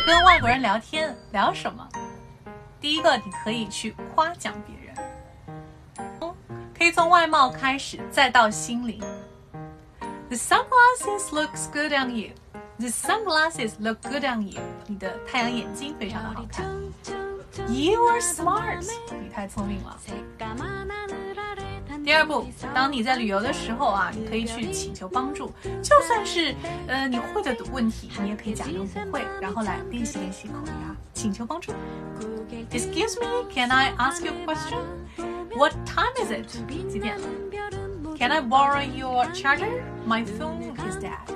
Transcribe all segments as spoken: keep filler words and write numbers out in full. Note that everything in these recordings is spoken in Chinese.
跟外国人聊天聊什么？第一个，你可以去夸奖别人，可以从外貌开始，再到心灵。The sunglasses looks good on you. The sunglasses look good on you. 你的太阳眼镜非常的好看。You are smart. 你太聪明了。第二步，当你在旅游的时候啊，你可以去请求帮助，就算是呃你会的问题，你也可以假装不会，然后来练习练习口语啊，请求帮助。Excuse me, can I ask you a question? What time is it? 几点了 ？Can I borrow your charger? My phone is dead.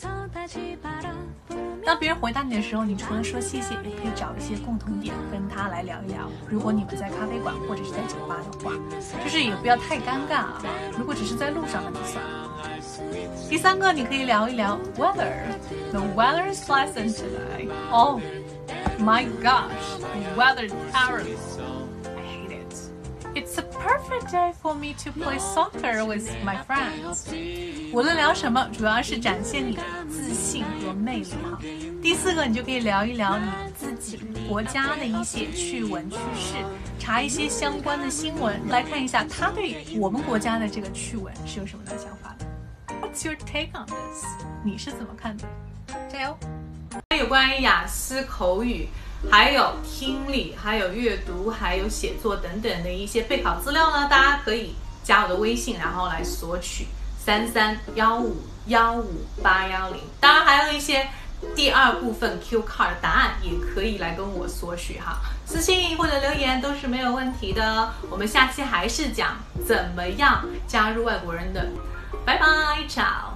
当别人回答你的时候，你除了说谢谢，也可以找一些共同点跟他来聊一聊。如果你们在咖啡馆或者是在酒吧的话，就是也不要太尴尬啊。如果只是在路上那就算了。第三个，你可以聊一聊 weather. The weather is pleasant today. Oh my gosh, the weather is terrible. I hate it. It's a perfect day for me to play soccer with my friends. 无论聊什么，主要是展现你的自信和魅力哈。第四个，你就可以聊一聊你自己国家的一些趣闻趣事，查一些相关的新闻，来看一下他对我们国家的这个趣闻是有什么的想法的。What's your take on this？ 你是怎么看的？加油！有关于雅思口语，还有听力，还有阅读，还有写作等等的一些备考资料呢，大家可以加我的微信，然后来索取三三幺五幺五八幺零。当然还有一些第二部分 Q card 的答案，也可以来跟我索取哈，私信或者留言都是没有问题的。我们下期还是讲怎么样加入外国人的。拜拜，ciao。